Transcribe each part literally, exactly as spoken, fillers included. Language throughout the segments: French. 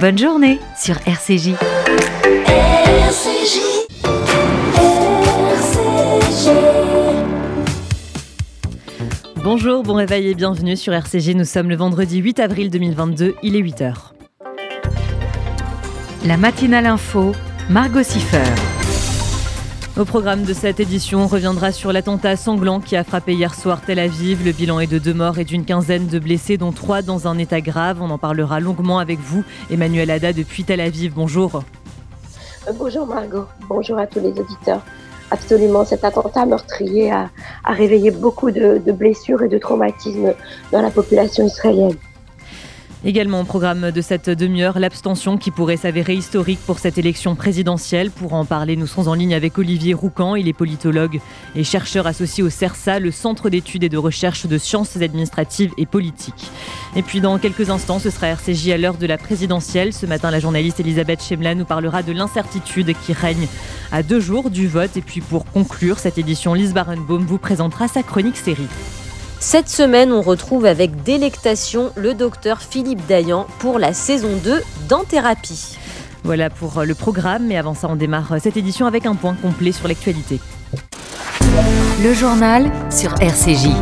Bonne journée sur R C J. R C J. R C J. Bonjour, bon réveil et bienvenue sur R C J. Nous sommes le vendredi huit avril deux mille vingt-deux, il est huit heures. La matinale info, Margot Siffer. Au programme de cette édition, on reviendra sur l'attentat sanglant qui a frappé hier soir Tel Aviv. Le bilan est de deux morts et d'une quinzaine de blessés, dont trois dans un état grave. On en parlera longuement avec vous, Emmanuel Ada, depuis Tel Aviv. Bonjour. Bonjour Margot, bonjour à tous les auditeurs. Absolument, cet attentat meurtrier a, a réveillé beaucoup de, de blessures et de traumatismes dans la population israélienne. Également au programme de cette demi-heure, l'abstention qui pourrait s'avérer historique pour cette élection présidentielle. Pour en parler, nous serons en ligne avec Olivier Roucan. Il est politologue et chercheur associé au CERSA, le Centre d'études et de recherche de sciences administratives et politiques. Et puis dans quelques instants, ce sera R C J à l'heure de la présidentielle. Ce matin, la journaliste Elisabeth Chemla nous parlera de l'incertitude qui règne à deux jours du vote. Et puis pour conclure cette édition, Lise Barenbaum vous présentera sa chronique série. Cette semaine, on retrouve avec délectation le docteur Philippe Dayan pour la saison deux d'En Thérapie. Voilà pour le programme, mais avant ça, on démarre cette édition avec un point complet sur l'actualité. Le journal sur R C J.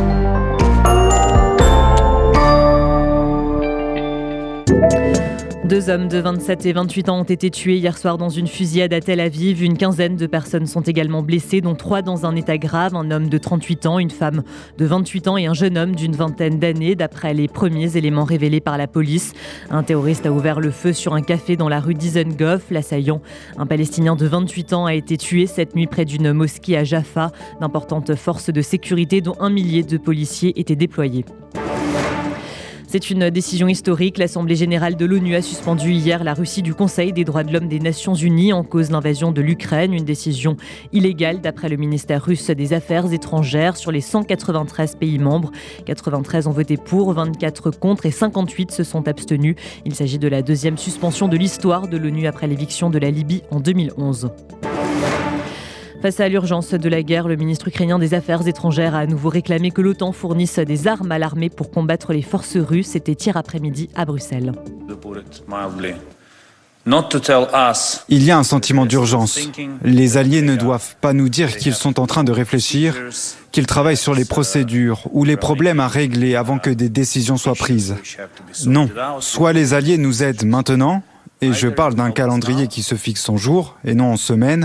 Deux hommes de vingt-sept et vingt-huit ans ont été tués hier soir dans une fusillade à Tel Aviv. Une quinzaine de personnes sont également blessées, dont trois dans un état grave. Un homme de trente-huit ans, une femme de vingt-huit ans et un jeune homme d'une vingtaine d'années, d'après les premiers éléments révélés par la police. Un terroriste a ouvert le feu sur un café dans la rue Dizengoff. L'assaillant, un Palestinien de vingt-huit ans, a été tué cette nuit près d'une mosquée à Jaffa. D'importantes forces de sécurité, dont un millier de policiers, étaient déployées. C'est une décision historique. L'Assemblée générale de l'ONU a suspendu hier la Russie du Conseil des droits de l'homme des Nations unies en cause de l'invasion de l'Ukraine. Une décision illégale d'après le ministère russe des Affaires étrangères. Sur les cent quatre-vingt-treize pays membres, quatre-vingt-treize ont voté pour, vingt-quatre contre et cinquante-huit se sont abstenus. Il s'agit de la deuxième suspension de l'histoire de l'ONU après l'éviction de la Libye en deux mille onze. Face à l'urgence de la guerre, le ministre ukrainien des Affaires étrangères a à nouveau réclamé que l'OTAN fournisse des armes à l'armée pour combattre les forces russes. C'était hier après-midi à Bruxelles. Il y a un sentiment d'urgence. Les alliés ne doivent pas nous dire qu'ils sont en train de réfléchir, qu'ils travaillent sur les procédures ou les problèmes à régler avant que des décisions soient prises. Non, soit les alliés nous aident maintenant, et je parle d'un calendrier qui se fixe en jours et non en semaines,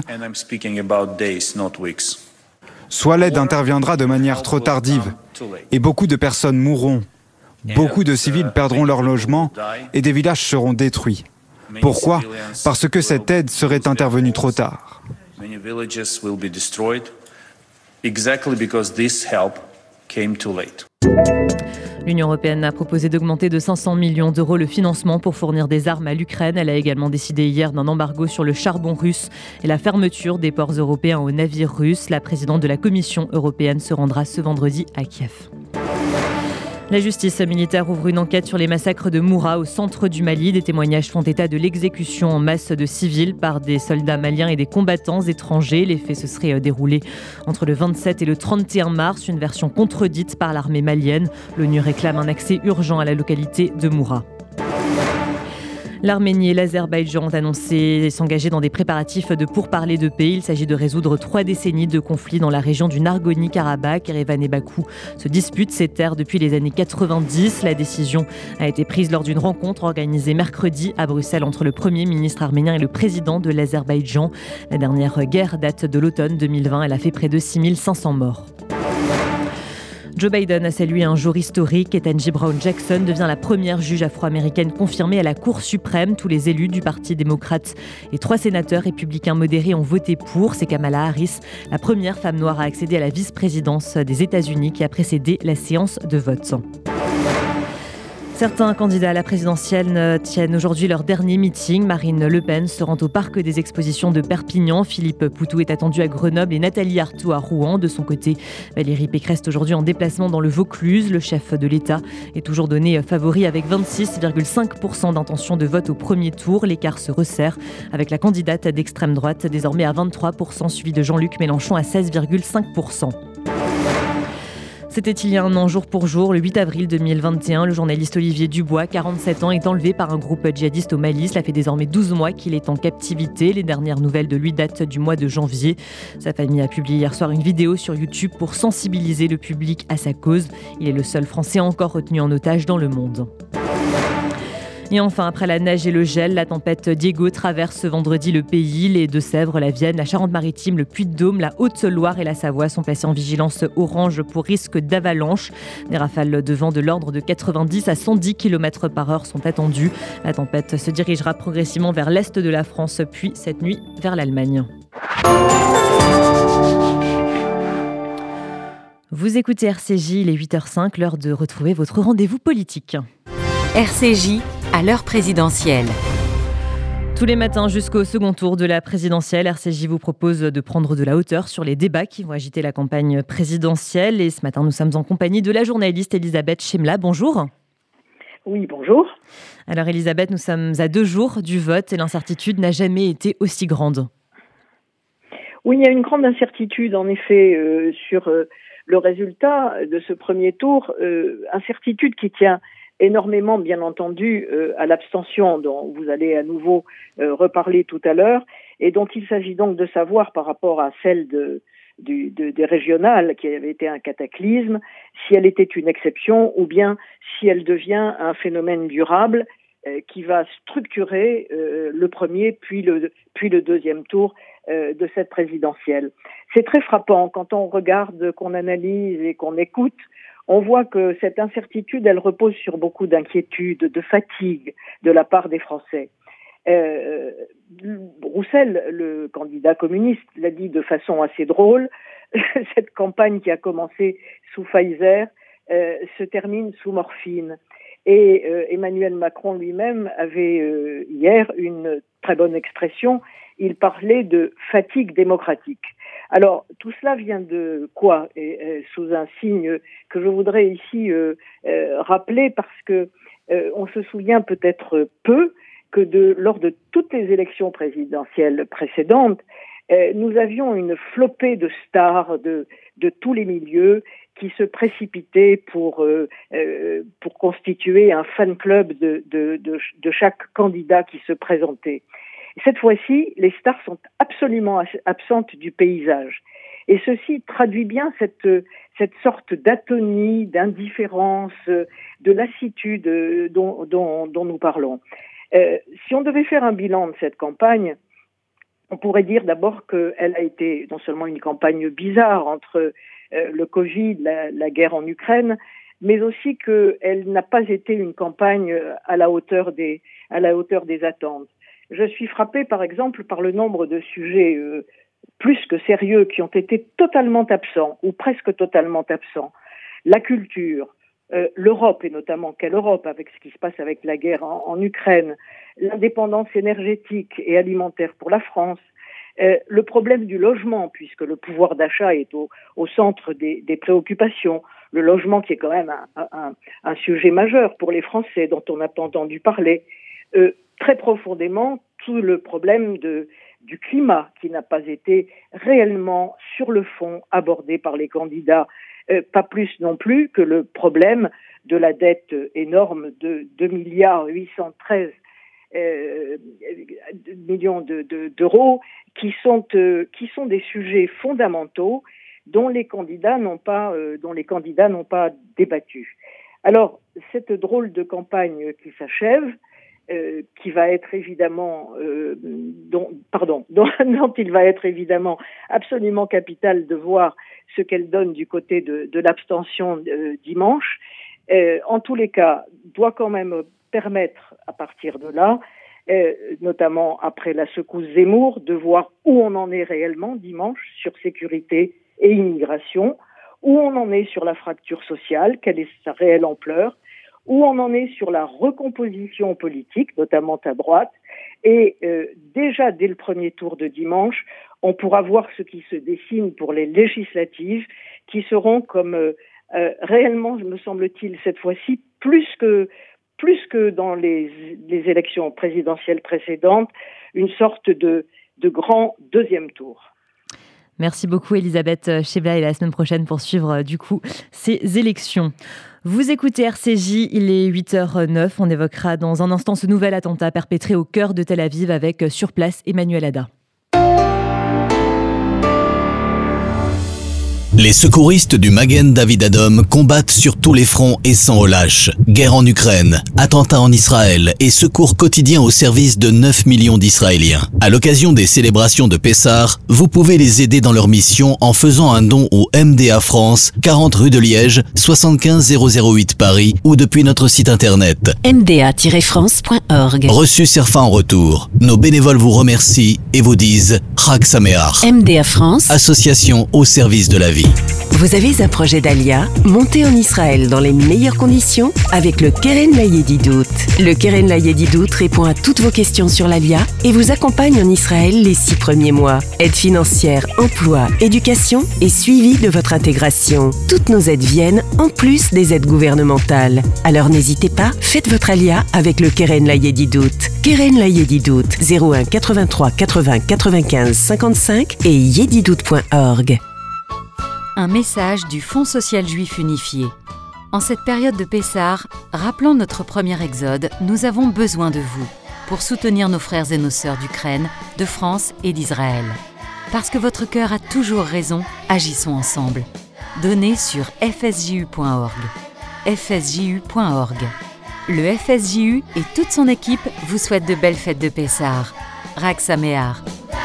soit l'aide interviendra de manière trop tardive et beaucoup de personnes mourront, beaucoup de civils perdront leur logement et des villages seront détruits. Pourquoi ? Parce que cette aide serait intervenue trop tard. L'Union européenne a proposé d'augmenter de cinq cents millions d'euros le financement pour fournir des armes à l'Ukraine. Elle a également décidé hier d'un embargo sur le charbon russe et la fermeture des ports européens aux navires russes. La présidente de la Commission européenne se rendra ce vendredi à Kiev. La justice militaire ouvre une enquête sur les massacres de Moura au centre du Mali. Des témoignages font état de l'exécution en masse de civils par des soldats maliens et des combattants étrangers. Les faits se seraient déroulés entre le vingt-sept et le trente et un mars, une version contredite par l'armée malienne. L'ONU réclame un accès urgent à la localité de Moura. L'Arménie et l'Azerbaïdjan ont annoncé s'engager dans des préparatifs de pourparlers de paix. Il s'agit de résoudre trois décennies de conflits dans la région du Nagorno-Karabakh. Erevan et Bakou se disputent ces terres depuis les années quatre-vingt-dix. La décision a été prise lors d'une rencontre organisée mercredi à Bruxelles entre le Premier ministre arménien et le président de l'Azerbaïdjan. La dernière guerre date de l'automne deux mille vingt. Elle a fait près de six mille cinq cents morts. Joe Biden a salué un jour historique. Ketanji Brown Jackson devient la première juge afro-américaine confirmée à la Cour suprême. Tous les élus du Parti démocrate et trois sénateurs républicains modérés ont voté pour. C'est Kamala Harris, la première femme noire à accéder à la vice-présidence des États-Unis, qui a précédé la séance de vote. Certains candidats à la présidentielle tiennent aujourd'hui leur dernier meeting. Marine Le Pen se rend au parc des expositions de Perpignan. Philippe Poutou est attendu à Grenoble et Nathalie Arthaud à Rouen. De son côté, Valérie Pécresse est aujourd'hui en déplacement dans le Vaucluse. Le chef de l'État est toujours donné favori avec vingt-six virgule cinq pour cent d'intention de vote au premier tour. L'écart se resserre avec la candidate d'extrême droite désormais à vingt-trois pour cent, suivie de Jean-Luc Mélenchon à seize virgule cinq pour cent. C'était il y a un an, jour pour jour, le huit avril deux mille vingt et un. Le journaliste Olivier Dubois, quarante-sept ans, est enlevé par un groupe djihadiste au Mali. Cela fait désormais douze mois qu'il est en captivité. Les dernières nouvelles de lui datent du mois de janvier. Sa famille a publié hier soir une vidéo sur YouTube pour sensibiliser le public à sa cause. Il est le seul Français encore retenu en otage dans le monde. Et enfin, après la neige et le gel, la tempête Diego traverse ce vendredi le pays. Les Deux-Sèvres, la Vienne, la Charente-Maritime, le Puy-de-Dôme, la Haute-Loire et la Savoie sont placés en vigilance orange pour risque d'avalanche. Des rafales de vent de l'ordre de quatre-vingt-dix à cent dix kilomètres par heure sont attendues. La tempête se dirigera progressivement vers l'est de la France, puis cette nuit vers l'Allemagne. Vous écoutez R C J, il est huit heures cinq, l'heure de retrouver votre rendez-vous politique. R C J à l'heure présidentielle. Tous les matins jusqu'au second tour de la présidentielle, R C J vous propose de prendre de la hauteur sur les débats qui vont agiter la campagne présidentielle. Et ce matin, nous sommes en compagnie de la journaliste Elisabeth Chemla. Bonjour. Oui, bonjour. Alors Elisabeth, nous sommes à deux jours du vote et l'incertitude n'a jamais été aussi grande. Oui, il y a une grande incertitude en effet euh, sur euh, le résultat de ce premier tour. Euh, incertitude qui tient énormément, bien entendu, euh, à l'abstention dont vous allez à nouveau euh, reparler tout à l'heure et dont il s'agit donc de savoir par rapport à celle de, du, de, des régionales qui avait été un cataclysme, si elle était une exception ou bien si elle devient un phénomène durable euh, qui va structurer euh, le premier puis le, puis le deuxième tour euh, de cette présidentielle. C'est très frappant quand on regarde, qu'on analyse et qu'on écoute. On voit que cette incertitude, elle repose sur beaucoup d'inquiétude, de fatigue de la part des Français. Euh, Roussel, le candidat communiste, l'a dit de façon assez drôle. Cette campagne qui a commencé sous Pfizer euh, se termine sous morphine. Et euh, Emmanuel Macron lui-même avait euh, hier une très bonne expression. Il parlait de fatigue démocratique. Alors, tout cela vient de quoi et, et, sous un signe que je voudrais ici euh, euh, rappeler parce que euh, on se souvient peut-être peu que de, lors de toutes les élections présidentielles précédentes, euh, nous avions une flopée de stars de, de tous les milieux qui se précipitaient pour, euh, euh, pour constituer un fan club de, de, de, de chaque candidat qui se présentait. Cette fois-ci, les stars sont absolument absentes du paysage. Et ceci traduit bien cette, cette sorte d'atonie, d'indifférence, de lassitude dont, dont, dont nous parlons. Euh, si on devait faire un bilan de cette campagne, on pourrait dire d'abord qu'elle a été non seulement une campagne bizarre entre euh, le Covid, la, la guerre en Ukraine, mais aussi qu'elle n'a pas été une campagne à la hauteur des, à la hauteur des attentes. Je suis frappée, par exemple, par le nombre de sujets euh, plus que sérieux qui ont été totalement absents, ou presque totalement absents. La culture, euh, l'Europe, et notamment quelle Europe, avec ce qui se passe avec la guerre en, en Ukraine, l'indépendance énergétique et alimentaire pour la France, euh, le problème du logement, puisque le pouvoir d'achat est au, au centre des, des préoccupations, le logement qui est quand même un, un, un sujet majeur pour les Français, dont on n'a pas entendu parler, euh, très profondément tout le problème de, du climat qui n'a pas été réellement sur le fond abordé par les candidats, euh, pas plus non plus que le problème de la dette énorme de deux milliards huit cent treize euh, millions de, de, d'euros qui sont, euh, qui sont des sujets fondamentaux dont les candidats n'ont pas, euh, dont les candidats n'ont pas débattu. Alors, cette drôle de campagne qui s'achève, Euh, qui va être évidemment, euh, dont, pardon, dont, dont il va être évidemment absolument capital de voir ce qu'elle donne du côté de, de l'abstention euh, dimanche, euh, en tous les cas, doit quand même permettre à partir de là, euh, notamment après la secousse Zemmour, de voir où on en est réellement dimanche sur sécurité et immigration, où on en est sur la fracture sociale, quelle est sa réelle ampleur, où on en est sur la recomposition politique, notamment à droite. Et euh, déjà, dès le premier tour de dimanche, on pourra voir ce qui se dessine pour les législatives, qui seront comme euh, euh, réellement, me semble-t-il, cette fois-ci, plus que, plus que dans les, les élections présidentielles précédentes, une sorte de, de grand deuxième tour. Merci beaucoup Elisabeth Chebla et la semaine prochaine pour suivre du coup ces élections. Vous écoutez R C J, il est huit heures neuf. On évoquera dans un instant ce nouvel attentat perpétré au cœur de Tel Aviv avec sur place Emmanuel Ada. Les secouristes du Magen David Adom combattent sur tous les fronts et sans relâche. Guerre en Ukraine, attentats en Israël et secours quotidiens au service de neuf millions d'Israéliens. À l'occasion des célébrations de Pessah, vous pouvez les aider dans leur mission en faisant un don au M D A France, quarante rue de Liège, soixante-quinze zéro zéro huit Paris ou depuis notre site internet m d a tiret france point org. Reçu Serfa en retour. Nos bénévoles vous remercient et vous disent Chag Sameach. M D A France, association au service de la vie. Vous avez un projet d'Alia? Montez en Israël dans les meilleures conditions avec le Keren Layedidout. Le Keren Layedidout répond à toutes vos questions sur l'Alia et vous accompagne en Israël les six premiers mois. Aide financière, emploi, éducation et suivi de votre intégration. Toutes nos aides viennent en plus des aides gouvernementales. Alors n'hésitez pas, faites votre Alia avec le Keren Layedidout. Keren Layedidout, zéro un quatre-vingt-trois quatre-vingts quatre-vingt-quinze cinquante-cinq et yedidout point org. Un message du Fonds social juif unifié. En cette période de Pessah, rappelant notre premier exode, nous avons besoin de vous pour soutenir nos frères et nos sœurs d'Ukraine, de France et d'Israël. Parce que votre cœur a toujours raison, agissons ensemble. Donnez sur f s j u point org. f s j u point org. Le F S J U et toute son équipe vous souhaitent de belles fêtes de Pessah. Chag Sameach.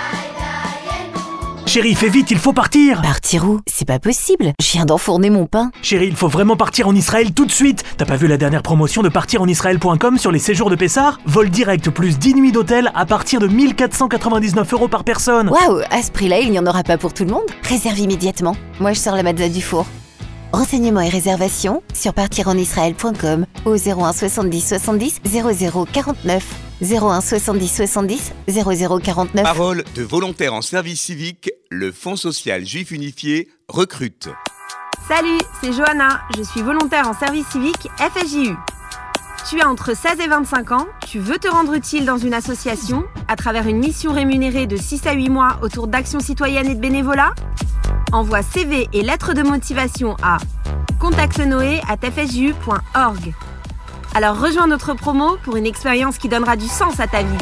Chérie, fais vite, il faut partir. Partir où? C'est pas possible, je viens d'enfourner mon pain. Chérie, il faut vraiment partir en Israël tout de suite. T'as pas vu la dernière promotion de partir en israël point com sur les séjours de Pessah? Vol direct plus dix nuits d'hôtel à partir de mille quatre cent quatre-vingt-dix-neuf euros par personne. Waouh, à ce prix-là, il n'y en aura pas pour tout le monde? Réserve immédiatement. Moi, je sors la matzah du four. Renseignements et réservations sur partir en israël point com au zéro un soixante-dix soixante-dix zéro zéro quarante-neuf. zéro un soixante-dix soixante-dix zéro zéro quarante-neuf. Parole de volontaires en service civique, le Fonds social juif unifié recrute. Salut, c'est Johanna, je suis volontaire en service civique F S J U. Tu as entre seize et vingt-cinq ans, tu veux te rendre utile dans une association à travers une mission rémunérée de six à huit mois autour d'actions citoyennes et de bénévolat? Envoie C V et lettres de motivation à contactenoé arobase f s j u point org. Alors rejoins notre promo pour une expérience qui donnera du sens à ta vie.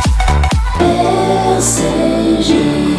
R C J.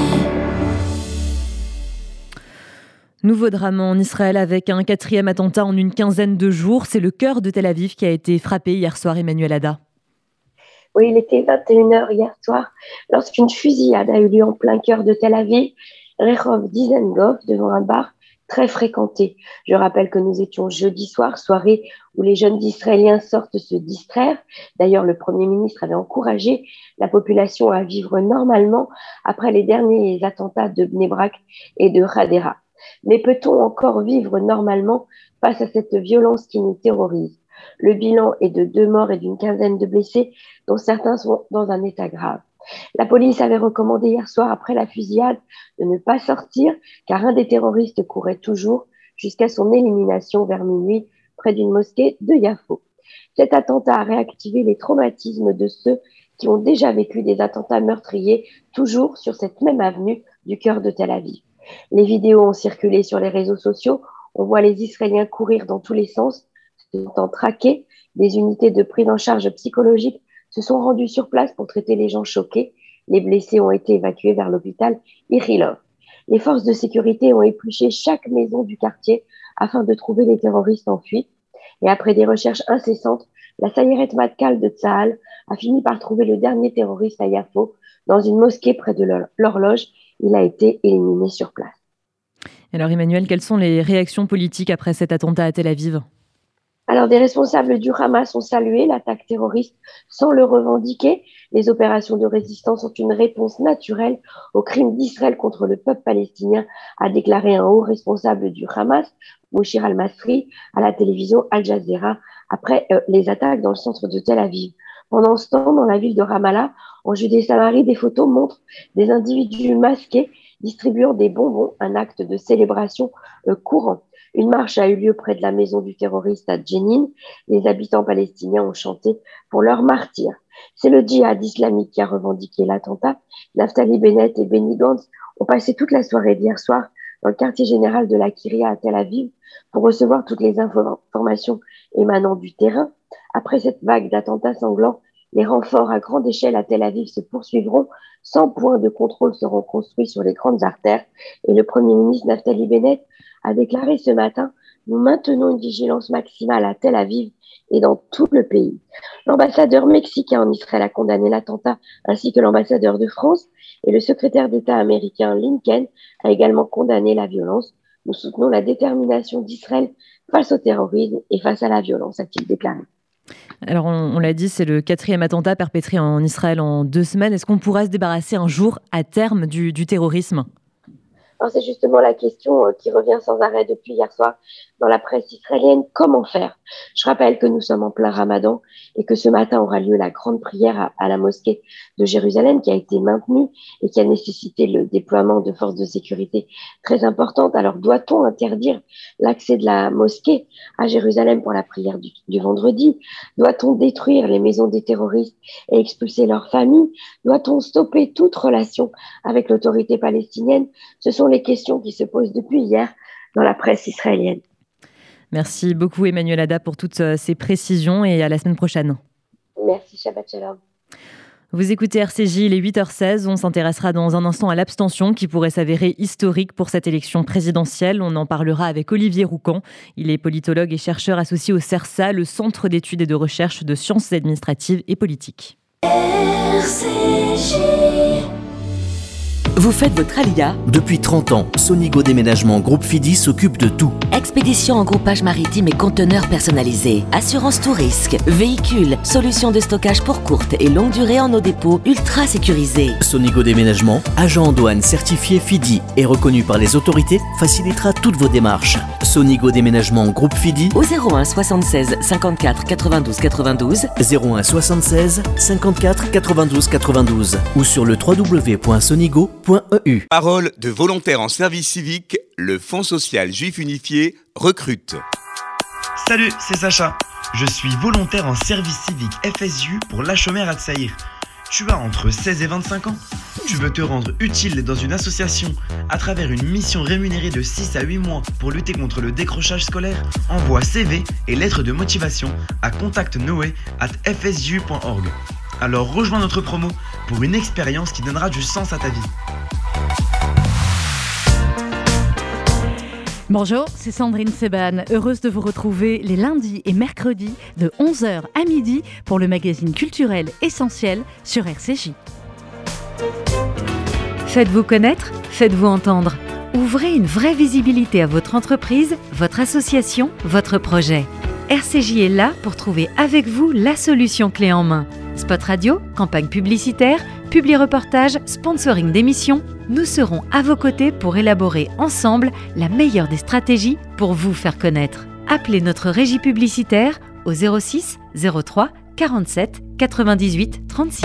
Nouveau drame en Israël avec un quatrième attentat en une quinzaine de jours. C'est le cœur de Tel Aviv qui a été frappé hier soir, Emmanuel Ada. Oui, il était vingt et une heures hier soir lorsqu'une fusillade a eu lieu en plein cœur de Tel Aviv, Rehov Dizengoff, devant un bar très fréquenté. Je rappelle que nous étions jeudi soir, soirée où les jeunes Israéliens sortent se distraire. D'ailleurs, le Premier ministre avait encouragé la population à vivre normalement après les derniers attentats de Bnei Brak et de Hadera. Mais peut-on encore vivre normalement face à cette violence qui nous terrorise? Le bilan est de deux morts et d'une quinzaine de blessés, dont certains sont dans un état grave. La police avait recommandé hier soir, après la fusillade, de ne pas sortir, car un des terroristes courait toujours jusqu'à son élimination vers minuit près d'une mosquée de Yafo. Cet attentat a réactivé les traumatismes de ceux qui ont déjà vécu des attentats meurtriers, toujours sur cette même avenue du cœur de Tel Aviv. Les vidéos ont circulé sur les réseaux sociaux. On voit les Israéliens courir dans tous les sens, se sentant traqués. Des unités de prise en charge psychologique se sont rendues sur place pour traiter les gens choqués. Les blessés ont été évacués vers l'hôpital Ichilov. Les forces de sécurité ont épluché chaque maison du quartier afin de trouver les terroristes en fuite. Et après des recherches incessantes, la Sayeret Matkal de Tsahal a fini par trouver le dernier terroriste à Yafo, dans une mosquée près de l'horloge. Il a été éliminé sur place. Alors Emmanuel, quelles sont les réactions politiques après cet attentat à Tel Aviv ? Alors, des responsables du Hamas ont salué l'attaque terroriste sans le revendiquer. Les opérations de résistance sont une réponse naturelle aux crimes d'Israël contre le peuple palestinien, a déclaré un haut responsable du Hamas, Mouchir al-Masri, à la télévision Al Jazeera, après euh, les attaques dans le centre de Tel Aviv. Pendant ce temps, dans la ville de Ramallah, en Judée-Samarie, des photos montrent des individus masqués distribuant des bonbons, un acte de célébration euh, courant. Une marche a eu lieu près de la maison du terroriste à Jenin. Les habitants palestiniens ont chanté pour leurs martyrs. C'est le djihad islamique qui a revendiqué l'attentat. Naftali Bennett et Benny Gantz ont passé toute la soirée d'hier soir dans le quartier général de la Kiria à Tel Aviv pour recevoir toutes les informations émanant du terrain. Après cette vague d'attentats sanglants, les renforts à grande échelle à Tel Aviv se poursuivront. cent points de contrôle seront construits sur les grandes artères. Et le Premier ministre Naftali Bennett a déclaré ce matin « Nous maintenons une vigilance maximale à Tel Aviv et dans tout le pays ». L'ambassadeur mexicain en Israël a condamné l'attentat, ainsi que l'ambassadeur de France, et le secrétaire d'État américain Lincoln a également condamné la violence. Nous soutenons la détermination d'Israël face au terrorisme et face à la violence, a-t-il déclaré. Alors on, on l'a dit, c'est le quatrième attentat perpétré en Israël en deux semaines. Est-ce qu'on pourra se débarrasser un jour à terme du, du terrorisme ? Alors c'est justement la question euh, qui revient sans arrêt depuis hier soir dans la presse israélienne. Comment faire ? Je rappelle que nous sommes en plein Ramadan et que ce matin aura lieu la grande prière à, à la mosquée de Jérusalem qui a été maintenue et qui a nécessité le déploiement de forces de sécurité très importantes. Alors doit-on interdire l'accès de la mosquée à Jérusalem pour la prière du, du vendredi ? Doit-on détruire les maisons des terroristes et expulser leurs familles ? Doit-on stopper toute relation avec l'autorité palestinienne ? Ce sont les questions qui se posent depuis hier dans la presse israélienne. Merci beaucoup Emmanuel Ada pour toutes ces précisions et à la semaine prochaine. Merci, Shabbat Shalom. Vous écoutez R C J, il est huit heures seize. On s'intéressera dans un instant à l'abstention qui pourrait s'avérer historique pour cette élection présidentielle. On en parlera avec Olivier Roucan. Il est politologue et chercheur associé au CERSA, le Centre d'études et de recherche de sciences administratives et politiques. R C J. Vous faites votre alia ? Depuis trente ans, Sonigo Déménagement Groupe Fidi s'occupe de tout. Expédition en groupage maritime et conteneurs personnalisés, assurance tout risque, véhicules, solutions de stockage pour courte et longue durée en nos dépôts ultra sécurisés. Sonigo Déménagement, agent en douane certifié Fidi et reconnu par les autorités, facilitera toutes vos démarches. Sonigo Déménagement Groupe Fidi au zéro un soixante-seize cinquante-quatre quatre-vingt-douze quatre-vingt-douze, zéro un soixante-seize cinquante-quatre quatre-vingt-douze quatre-vingt-douze ou sur le w w w point sonigo point e u. Parole de volontaires en service civique, le Fonds social juif unifié recrute. Salut, c'est Sacha. Je suis volontaire en service civique F S J U pour La Chomère à Tsaïr. Tu as entre seize et vingt-cinq ans. Tu veux te rendre utile dans une association à travers une mission rémunérée de six à huit mois pour lutter contre le décrochage scolaire. Envoie C V et lettres de motivation à contact noé arobase f s j u point org. Alors rejoins notre promo pour une expérience qui donnera du sens à ta vie. Bonjour, c'est Sandrine Seban, heureuse de vous retrouver les lundis et mercredis de onze heures à midi pour le magazine culturel essentiel sur R C J. Faites-vous connaître, faites-vous entendre. Ouvrez une vraie visibilité à votre entreprise, votre association, votre projet. R C J est là pour trouver avec vous la solution clé en main. Spot radio, campagne publicitaire, publi-reportage, sponsoring d'émissions, nous serons à vos côtés pour élaborer ensemble la meilleure des stratégies pour vous faire connaître. Appelez notre régie publicitaire au zéro six zéro trois quarante-sept quatre-vingt-dix-huit trente-six.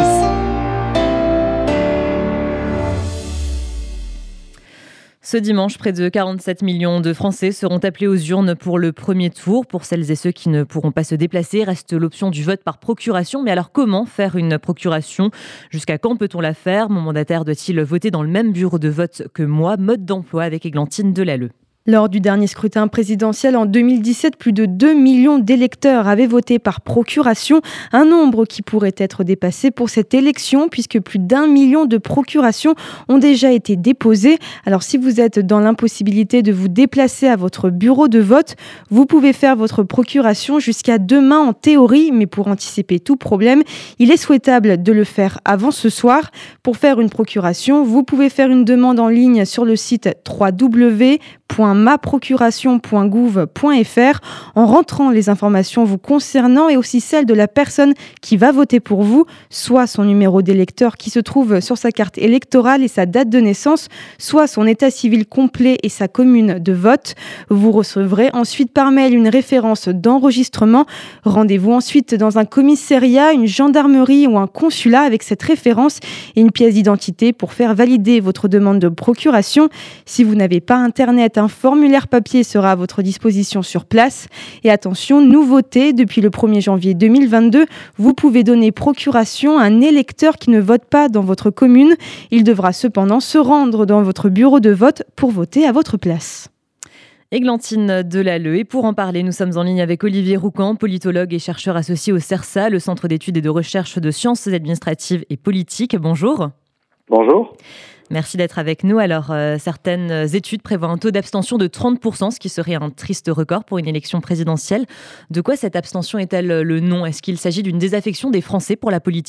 Ce dimanche, près de quarante-sept millions de Français seront appelés aux urnes pour le premier tour. Pour celles et ceux qui ne pourront pas se déplacer, reste l'option du vote par procuration. Mais alors, comment faire une procuration ? Jusqu'à quand peut-on la faire ? Mon mandataire doit-il voter dans le même bureau de vote que moi ? Mode d'emploi avec Églantine Delalleux. Lors du dernier scrutin présidentiel en deux mille dix-sept, plus de deux millions d'électeurs avaient voté par procuration, un nombre qui pourrait être dépassé pour cette élection puisque plus d'un million de procurations ont déjà été déposées. Alors si vous êtes dans l'impossibilité de vous déplacer à votre bureau de vote, vous pouvez faire votre procuration jusqu'à demain en théorie, mais pour anticiper tout problème, il est souhaitable de le faire avant ce soir. Pour faire une procuration, vous pouvez faire une demande en ligne sur le site w w w point ma procuration point gouv point f r en rentrant les informations vous concernant et aussi celles de la personne qui va voter pour vous, soit son numéro d'électeur qui se trouve sur sa carte électorale et sa date de naissance, soit son état civil complet et sa commune de vote. Vous recevrez ensuite par mail une référence d'enregistrement. Rendez-vous ensuite dans un commissariat, une gendarmerie ou un consulat avec cette référence et une pièce d'identité pour faire valider votre demande de procuration. Si vous n'avez pas internet, un formulaire papier sera à votre disposition sur place. Et attention, nouveauté, depuis le premier janvier deux mille vingt-deux, vous pouvez donner procuration à un électeur qui ne vote pas dans votre commune. Il devra cependant se rendre dans votre bureau de vote pour voter à votre place. Églantine Delalleux. Et pour en parler, nous sommes en ligne avec Olivier Roucan, politologue et chercheur associé au CERSA, le Centre d'études et de recherche de sciences administratives et politiques. Bonjour. Bonjour. Merci d'être avec nous. Alors, euh, certaines études prévoient un taux d'abstention de trente pour cent, ce qui serait un triste record pour une élection présidentielle. De quoi cette abstention est-elle le nom ? Est-ce qu'il s'agit d'une désaffection des Français pour la politique ?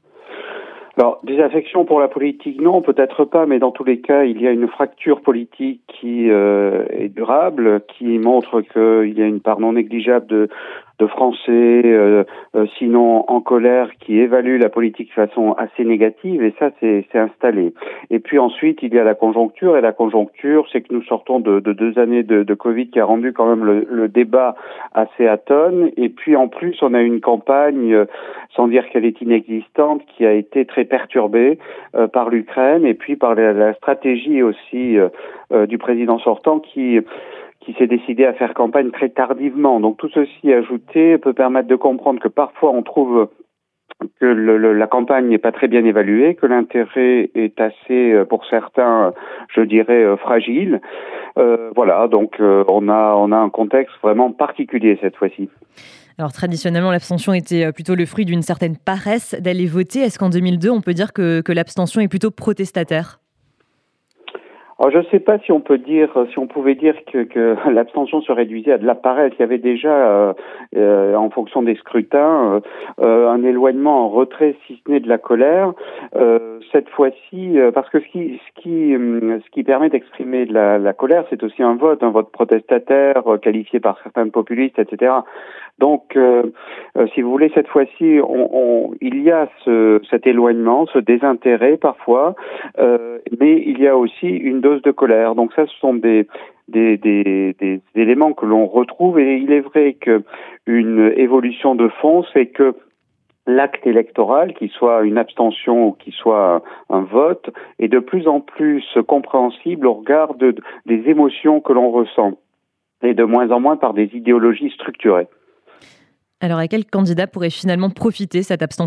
Alors, désaffection pour la politique, non, peut-être pas, mais dans tous les cas, il y a une fracture politique qui euh, est durable, qui montre qu'il y a une part non négligeable de, de Français, euh, euh, sinon en colère, qui évaluent la politique de façon assez négative, et ça, c'est, c'est installé. Et puis ensuite, il y a la conjoncture, et la conjoncture, c'est que nous sortons de, de deux années de, de Covid qui a rendu quand même le, le débat assez atone, et puis en plus, on a une campagne, euh, sans dire qu'elle est inexistante, qui a été très perturbée euh, par l'Ukraine, et puis par la, la stratégie aussi euh, euh, du président sortant qui... qui s'est décidé à faire campagne très tardivement. Donc tout ceci ajouté peut permettre de comprendre que parfois on trouve que le, le, la campagne n'est pas très bien évaluée, que l'intérêt est assez, pour certains, je dirais, fragile. Euh, voilà, donc euh, on a on a un contexte vraiment particulier cette fois-ci. Alors traditionnellement, l'abstention était plutôt le fruit d'une certaine paresse d'aller voter. Est-ce qu'en deux mille deux, on peut dire que, que l'abstention est plutôt protestataire ? Alors, je ne sais pas si on peut dire, si on pouvait dire que, que l'abstention se réduisait à de la paresse. Il y avait déjà, euh, euh, en fonction des scrutins, euh, un éloignement, un retrait, si ce n'est de la colère. Euh, cette fois-ci, euh, parce que ce qui, ce qui, ce qui permet d'exprimer de la, la colère, c'est aussi un vote, un vote protestataire, euh, qualifié par certains populistes, et cetera. Donc, euh, euh, si vous voulez, cette fois-ci, on, on, il y a ce, cet éloignement, ce désintérêt parfois, euh, mais il y a aussi une dose de colère. Donc ça, ce sont des, des, des, des éléments que l'on retrouve, et il est vrai que une évolution de fond, c'est que l'acte électoral, qu'il soit une abstention ou qu'il soit un, un vote, est de plus en plus compréhensible au regard de, des émotions que l'on ressent, et de moins en moins par des idéologies structurées. Alors, à quel candidat pourrait finalement profiter cette abstention ?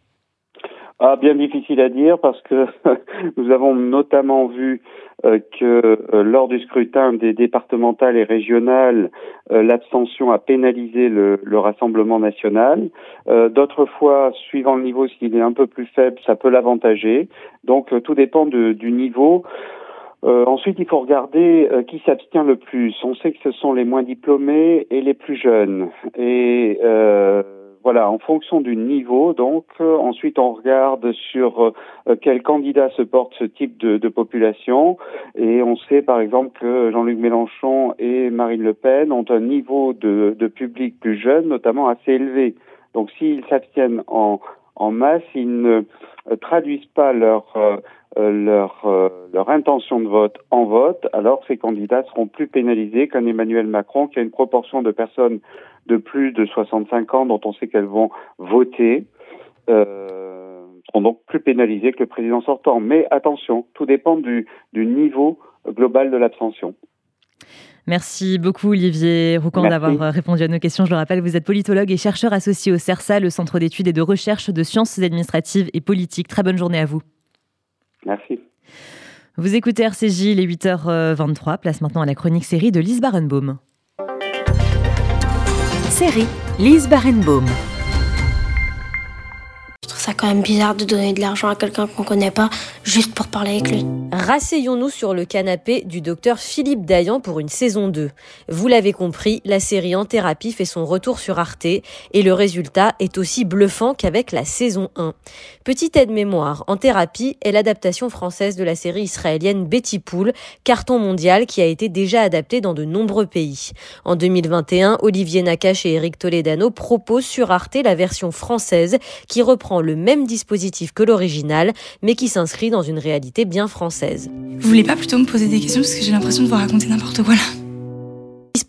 Ah, bien difficile à dire, parce que nous avons notamment vu euh, que euh, lors du scrutin des départementales et régionales, euh, l'abstention a pénalisé le, le Rassemblement national. Euh, d'autres fois, suivant le niveau, s'il est un peu plus faible, ça peut l'avantager. Donc, euh, tout dépend de, du niveau. Euh, ensuite, il faut regarder euh, qui s'abstient le plus. On sait que ce sont les moins diplômés et les plus jeunes. Et euh, voilà, en fonction du niveau, donc, euh, ensuite on regarde sur euh, quel candidat se porte ce type de, de population. Et on sait par exemple que Jean-Luc Mélenchon et Marine Le Pen ont un niveau de, de public plus jeune, notamment assez élevé. Donc s'ils s'abstiennent en, en masse, ils ne euh, traduisent pas leur... Euh, leur euh, leur intention de vote en vote, alors ces candidats seront plus pénalisés qu'un Emmanuel Macron qui a une proportion de personnes de plus de soixante-cinq ans dont on sait qu'elles vont voter, euh, seront donc plus pénalisés que le président sortant. Mais attention, tout dépend du, du niveau global de l'abstention. Merci beaucoup Olivier Roucan d'avoir répondu à nos questions. Je le rappelle, vous êtes politologue et chercheur associé au CERSA, le Centre d'études et de recherche de sciences administratives et politiques. Très bonne journée à vous. Merci. Vous écoutez R C J, il est huit heures vingt-trois. Place maintenant à la chronique série de Lise Barenbaum. Série, Lise Barenbaum. Je trouve ça quand même bizarre de donner de l'argent à quelqu'un qu'on connaît pas juste pour parler avec lui. Rasseyons-nous sur le canapé du docteur Philippe Dayan pour une saison deux. Vous l'avez compris, la série En thérapie fait son retour sur Arte et le résultat est aussi bluffant qu'avec la saison un. Petite aide-mémoire, En thérapie est l'adaptation française de la série israélienne Betty Pool, carton mondial qui a été déjà adapté dans de nombreux pays. En deux mille vingt et un, Olivier Nakache et Eric Toledano proposent sur Arte la version française qui reprend le même dispositif que l'original, mais qui s'inscrit dans une réalité bien française. Vous voulez pas plutôt me poser des questions parce que j'ai l'impression de vous raconter n'importe quoi là.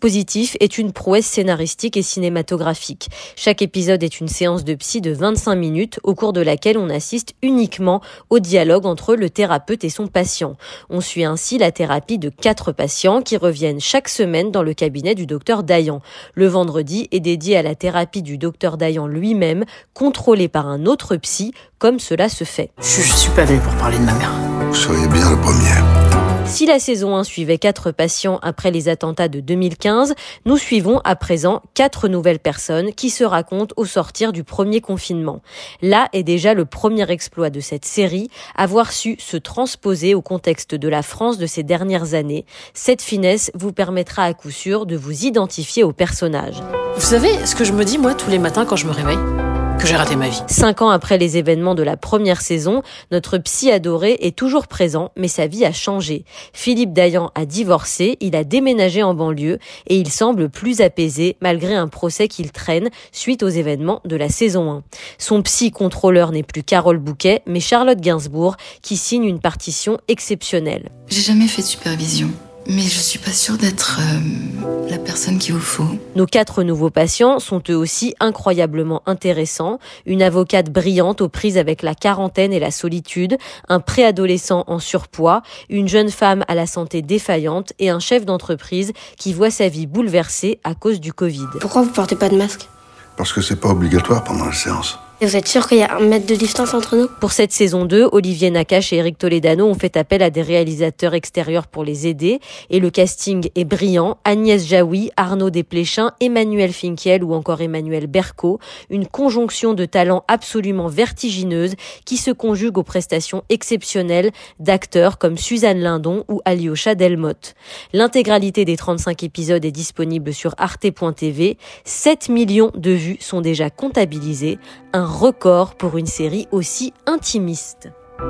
dispositif est une prouesse scénaristique et cinématographique. Chaque épisode est une séance de psy de vingt-cinq minutes au cours de laquelle on assiste uniquement au dialogue entre le thérapeute et son patient. On suit ainsi la thérapie de quatre patients qui reviennent chaque semaine dans le cabinet du docteur Dayan. Le vendredi est dédié à la thérapie du docteur Dayan lui-même, contrôlé par un autre psy, comme cela se fait. Je, je suis pas venu pour parler de ma mère. Vous seriez bien le premier. Si la saison un suivait quatre patients après les attentats de deux mille quinze, nous suivons à présent quatre nouvelles personnes qui se racontent au sortir du premier confinement. Là est déjà le premier exploit de cette série, avoir su se transposer au contexte de la France de ces dernières années. Cette finesse vous permettra à coup sûr de vous identifier aux personnages. Vous savez ce que je me dis moi tous les matins quand je me réveille ? Que j'ai raté ma vie. Cinq ans après les événements de la première saison, notre psy adoré est toujours présent, mais sa vie a changé. Philippe Dayan a divorcé, il a déménagé en banlieue et il semble plus apaisé malgré un procès qu'il traîne suite aux événements de la saison un. Son psy contrôleur n'est plus Carole Bouquet, mais Charlotte Gainsbourg, qui signe une partition exceptionnelle. J'ai jamais fait de supervision. Mais je suis pas sûre d'être euh, la personne qu'il vous faut. Nos quatre nouveaux patients sont eux aussi incroyablement intéressants. Une avocate brillante aux prises avec la quarantaine et la solitude, un préadolescent en surpoids, une jeune femme à la santé défaillante et un chef d'entreprise qui voit sa vie bouleversée à cause du Covid. Pourquoi vous portez pas de masque ? Parce que c'est pas obligatoire pendant la séance. Et vous êtes sûr qu'il y a un mètre de distance entre nous ? Pour cette saison deux, Olivier Nakache et Eric Toledano ont fait appel à des réalisateurs extérieurs pour les aider. Et le casting est brillant. Agnès Jaoui, Arnaud Desplechin, Emmanuel Finkiel ou encore Emmanuel Berco. Une conjonction de talents absolument vertigineuse qui se conjugue aux prestations exceptionnelles d'acteurs comme Suzanne Lindon ou Alyosha Delmotte. L'intégralité des trente-cinq épisodes est disponible sur arte point t v. sept millions de vues sont déjà comptabilisées. Un record pour une série aussi intimiste.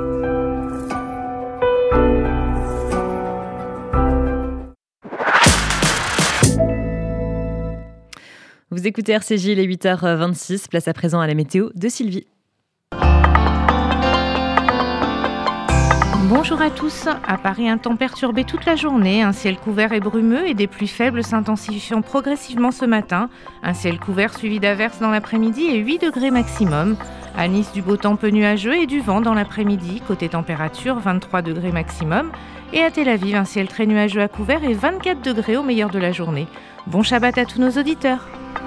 Vous écoutez R C J, il est huit heures vingt-six, place à présent à la météo de Sylvie. Bonjour à tous. À Paris, un temps perturbé toute la journée, un ciel couvert et brumeux et des pluies faibles s'intensifiant progressivement ce matin. Un ciel couvert suivi d'averses dans l'après-midi et huit degrés maximum. À Nice, du beau temps peu nuageux et du vent dans l'après-midi. Côté température, vingt-trois degrés maximum. Et à Tel Aviv, un ciel très nuageux à couvert et vingt-quatre degrés au meilleur de la journée. Bon Shabbat à tous nos auditeurs.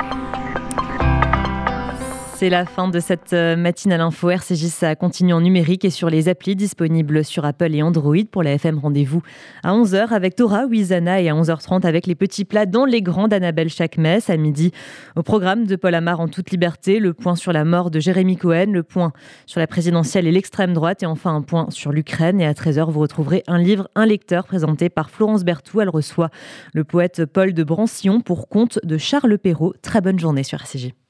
C'est la fin de cette matinale info. R C J, ça continue en numérique et sur les applis disponibles sur Apple et Android. Pour la F M, rendez-vous à onze heures avec Torah Ouizana et à onze heures trente avec les petits plats dans les grands d'Annabelle Chakmes. À midi, au programme de Paul Amar en toute liberté, le point sur la mort de Jérémy Cohen, le point sur la présidentielle et l'extrême droite et enfin un point sur l'Ukraine. Et à treize heures, vous retrouverez un livre, un lecteur présenté par Florence Berthoud. Elle reçoit le poète Paul de Brancion pour conte de Charles Perrault. Très bonne journée sur R C J.